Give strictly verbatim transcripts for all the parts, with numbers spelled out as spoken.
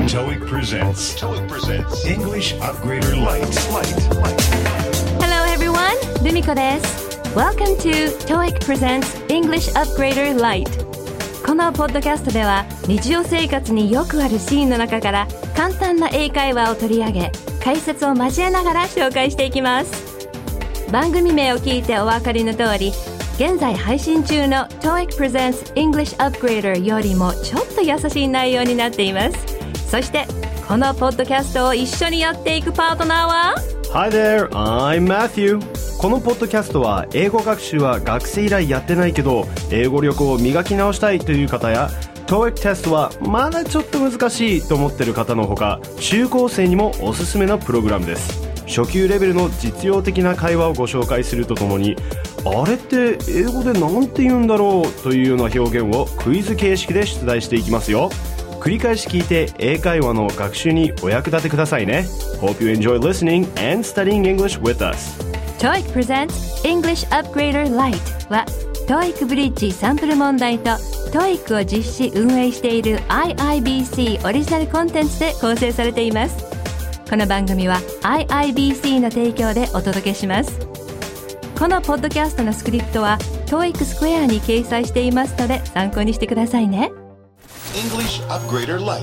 トーイック presentsトーイック presents English Upgrader Lite. Hello everyone, ルミコです。Welcome to トーイック presents English Upgrader Lite. このポッドキャストでは日常生活によくあるシーンの中から簡単な英会話を取り上げ、解説を交えながら紹介していきます。番組名を聞いてお分かりの通り、現在配信中の トーイック presents English Upgrader よりもちょっと優しい内容になっています。そしてこのポッドキャストを一緒にやっていくパートナーは Hi there, I'm Matthew. このポッドキャストは英語学習は学生以来やってないけど英語力を磨き直したいという方や トーイック テストはまだちょっと難しいと思っている方のほか、中高生にもおすすめのプログラムです。初級レベルの実用的な会話をご紹介するとともに、あれって英語でなんて言うんだろうというような表現をクイズ形式で出題していきますよ。繰り返し聞いて英会話の学習にお役立てくださいね。 Hope you enjoy listening and studying English with us. トーイック presents English Upgrader Lite は トーイック ブリッジサンプル問題と トーイック を実施運営している アイアイビーシー オリジナルコンテンツで構成されています。この番組は アイアイビーシー の提供でお届けします。このポッドキャストのスクリプトは トーイック スクエアに掲載していますので参考にしてくださいね。 English Upgrader Lite.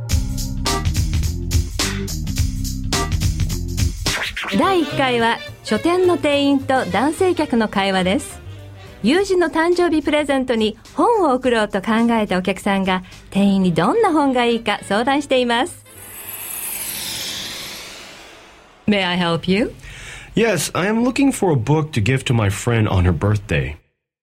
だいいっかいは書店の店員と男性客の会話です。友人の誕生日プレゼントに本を贈ろうと考えたお客さんが店員にどんな本がいいか相談しています。 May I help you? Yes, I am looking for a book to give to my friend on her birthday.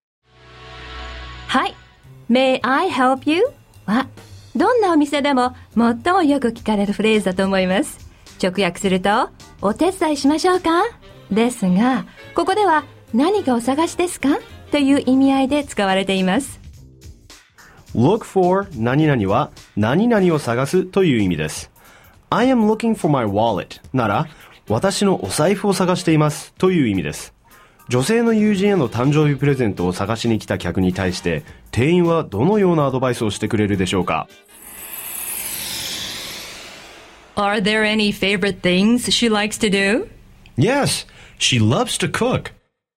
はい、 May I help you? はどんなお店でも最もよく聞かれるフレーズだと思います。直訳するとお手伝いしましょうかですが、ここでは何かお探しですかという意味合いで使われています。 Look for 何々は何々を探すという意味です。 I am looking for my wallet なら私のお財布を探していますという意味です。女性の友人への誕生日プレゼントを探しに来た客に対して店員はどのようなアドバイスをしてくれるでしょうか。 Are there any favorite things she likes to do? Yes, she loves to cook.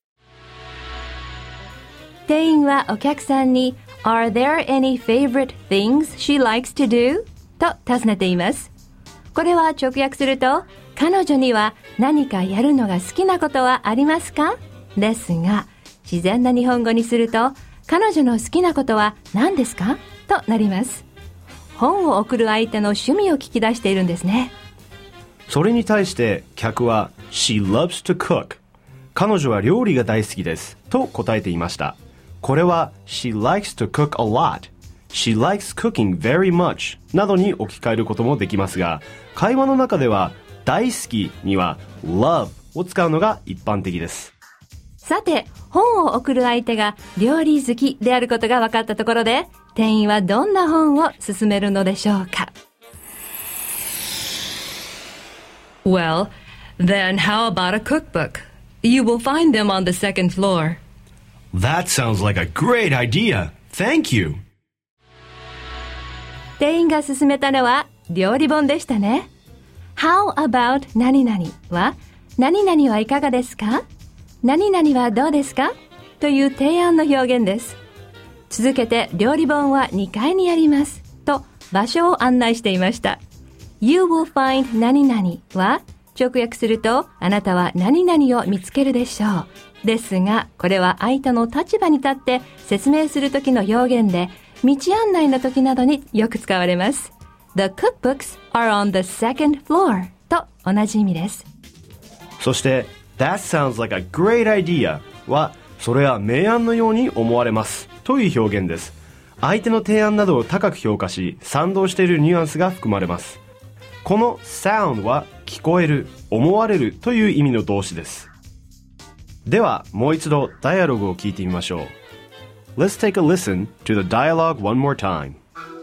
店員はお客さんに Are there any favorite things she likes to do? と尋ねています。これは直訳すると彼女には何かやるのが好きなことはありますかですが、自然な日本語にすると彼女の好きなことは何ですかとなります。本を送る相手の趣味を聞き出しているんですね。 それに対して客は She loves to cook 彼女は料理が大好きですと答えていました。これは She likes to cook a lot She likes cooking very much などに置き換えることもできますが、会話の中では大好きには love を使うのが一般的です。さて、本を送る相手が料理好きであることが分かったところで、店員はどんな本を勧めるのでしょうか。 Well, then how about a cookbook? You will find them on the second floor. That sounds like a great idea. Thank you. 店員が勧めたのは料理本でしたね。How about 何々は何々はいかがですか、何々はどうですかという提案の表現です。続けて料理本はにかいにありますと場所を案内していました。 You will find 何々は直訳するとあなたは何々を見つけるでしょうですが、これは相手の立場に立って説明する時の表現で道案内の時などによく使われます。 The cookbooks are on the second floor と同じ意味です。 そして That sounds like a great idea はそれは明暗のように思われますという表現です。相手の提案などを高く評価し賛同しているニュアンスが含まれます。この sound は聞こえる、思われるという意味の動詞です。ではもう一度ダイアログを聞いてみましょう。 Let's take a listen to the dialogue one more time.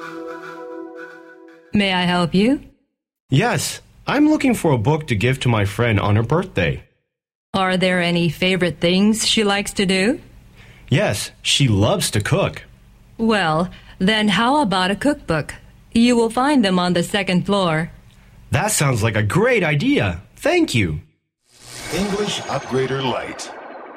May I help you? Yes, I'm looking for a book to give to my friend on her birthday. Are there any favorite things she likes to do? Yes, she loves to cook. Well, then how about a cookbook? You will find them on the second floor. That sounds like a great idea. Thank you. English Upgrader Lite.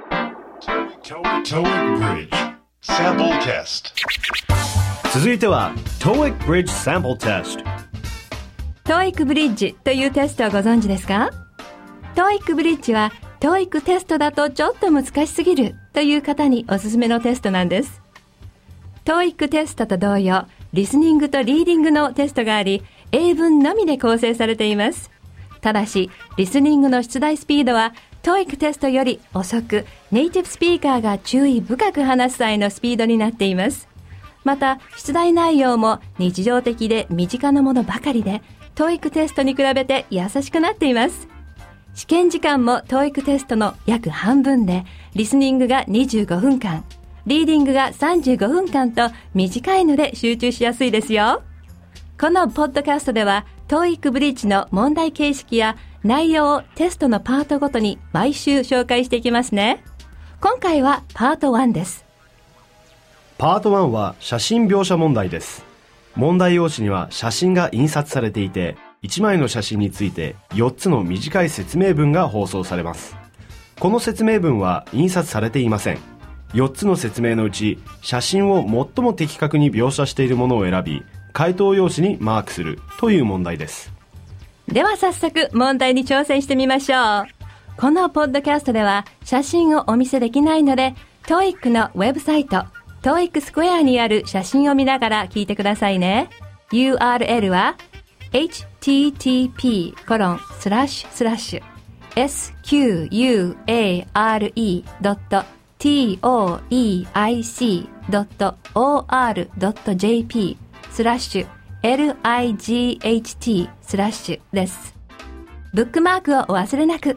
TOEIC Bridge Sample Test. 続いては トーイック Bridge Sample Test。 トーイック Bridge というテストをご存知ですか？ トーイック Bridge は トーイック テストだとちょっと難しすぎるという方におすすめのテストなんです。トーイック テストと同様、リスニングとリーディングのテストがあり、英文のみで構成されています。ただし、リスニングの出題スピードは トーイック テストより遅く、ネイティブスピーカーが注意深く話す際のスピードになっています。また、出題内容も日常的で身近なものばかりで、トーイック テストに比べて優しくなっています。試験時間も トーイック テストの約半分で、リスニングがにじゅうごふんかん、リーディングがさんじゅうごふんかんと短いので集中しやすいですよ。このポッドキャストでは トーイック Bridge の問題形式や内容をテストのパートごとに毎週紹介していきますね。今回はパートワンです。 パートワンは写真描写問題です。問題用紙には写真が印刷されていて、いちまいの写真についてよっつの短い説明文が放送されます。この説明文は印刷されていません。よっつの説明のうち、写真を最も的確に描写しているものを選び、回答用紙にマークするという問題です。 では早速問題に挑戦してみましょう。このポッドキャストでは写真をお見せできないので、トーイック のウェブサイト、トーイック スクエアにある写真を見ながら聞いてくださいね。ユーアールエル は エイチティーティーピーコロンスラッシュスラッシュエスキューユーエーアールイードットトーイックドットオーアールドットジェーピー スラッシュ エルアイジーエイチティー スラッシュです。ブックマークをお忘れなく。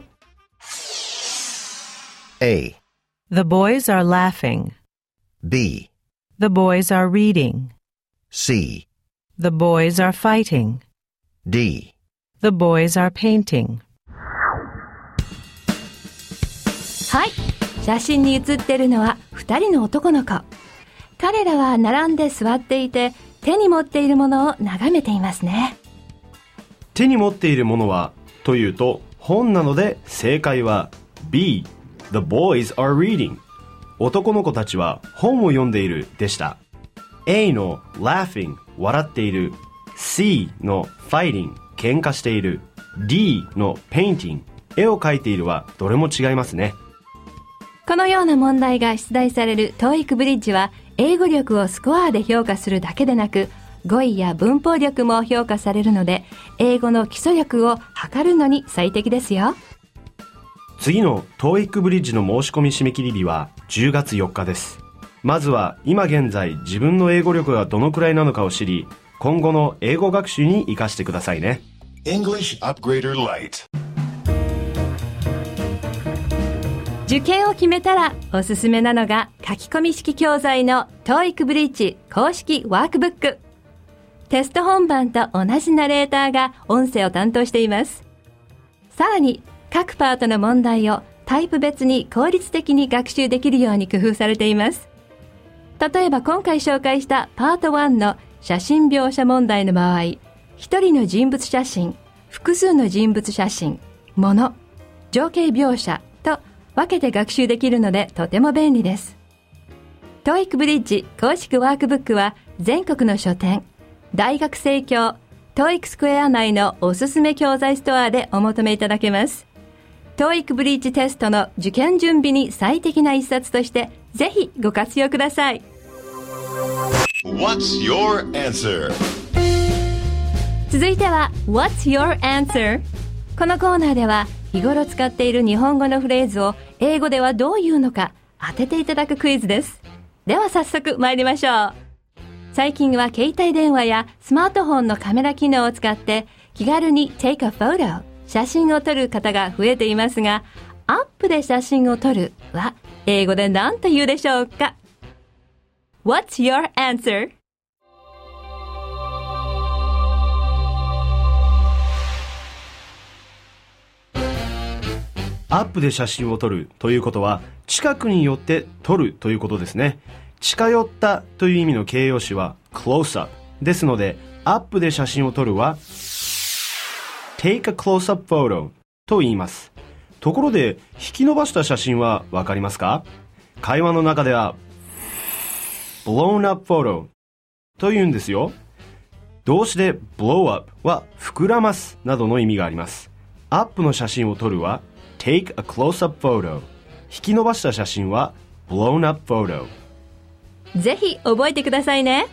A. The boys are laughing. B. The boys are reading. C. The boys are fighting. D. The boys are painting. はい。写真に写っているのはふたりの男の子。彼らは並んで座っていて、手に持っているものを眺めていますね。 手に持っているものはというと本なので、正解は B. The boys are reading。 男の子たちは本を読んでいるでした。 A の laughing 笑っている、 C の fighting 喧嘩している、 D の painting 絵を描いているはどれも違いますね。 このような問題が出題される トーイック Bridge は、英語力をスコアで評価するだけでなく、語彙や文法力も評価されるので、英語の基礎力を測るのに最適ですよ。 次の トーイック Bridge の申し込み締め切り日はじゅうがつよっかです。まずは今現在自分の英語力がどのくらいなのかを知り、今後の英語学習に生かしてくださいね。 English Upgrader Lite。 受験を決めたらおすすめなのが書き込み式教材の トーイック Bridge 公式ワークブック。テスト本番と同じナレーターが音声を担当しています。さらに各パートの問題をタイプ別に効率的に学習できるように工夫されています。例えば今回紹介したパートワンの写真描写問題の場合、一人の人物写真、複数の人物写真、物、情景描写と分けて学習できるのでとても便利です。トーイック Bridge 公式ワークブックは全国の書店、大学生協、トーイック スクエア内のおすすめ教材ストアでお求めいただけます。トーイック Bridge テストの受験準備に最適な一冊としてぜひご活用ください。 What's your answer? 続いては What's your answer? このコーナーでは日頃使っている日本語のフレーズを英語ではどう言うのか当てていただくクイズです。では早速参りましょう。最近は携帯電話やスマートフォンのカメラ機能を使って気軽に take a photo 写真を撮る方が増えていますが、アップで写真を撮るは英語で何と言うでしょうか？ What's your answer? アップで写真を撮るということは近くに寄って撮るということですね。近寄ったという意味の形容詞は close up ですのでアップで写真を撮るは take a close-up photo と言います。ところで引き伸ばした写真はわかりますか？会話の中では blown up photo と言うんですよ。動詞で blow up は膨らますなどの意味があります。アップの写真を撮るは take a close-up photo、 引き伸ばした写真は blown up photo。 ぜひ覚えてくださいね。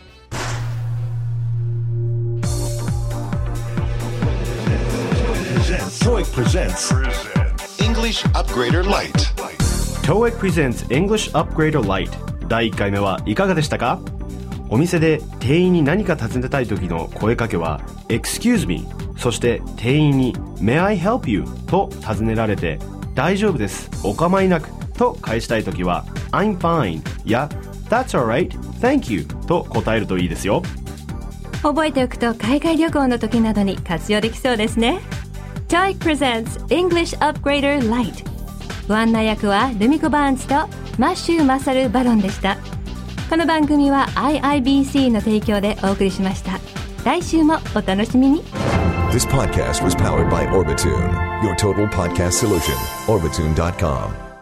トーイック presents English Upgrader Lite。 トーイック presents English Upgrader Lite。 だいいっかいめはいかがでしたか？お店で店員に何か尋ねたい時の声かけは Excuse me、 そして店員に May I help you と尋ねられて大丈夫です、お構いなくと返したい時は I'm fine や That's alright, thank you と答えるといいですよ。 覚えておくと海外旅行の時などに活用できそうですね。 トーイック presents English Upgrader Lite。 ご案内役はルミコ・バーンズとマッシュー・マサル・バロンでした。この番組は アイアイビーシー の提供でお送りしました。来週もお楽しみに。 This podcast was powered by Orbitune, your total podcast solution. Orbitune dot com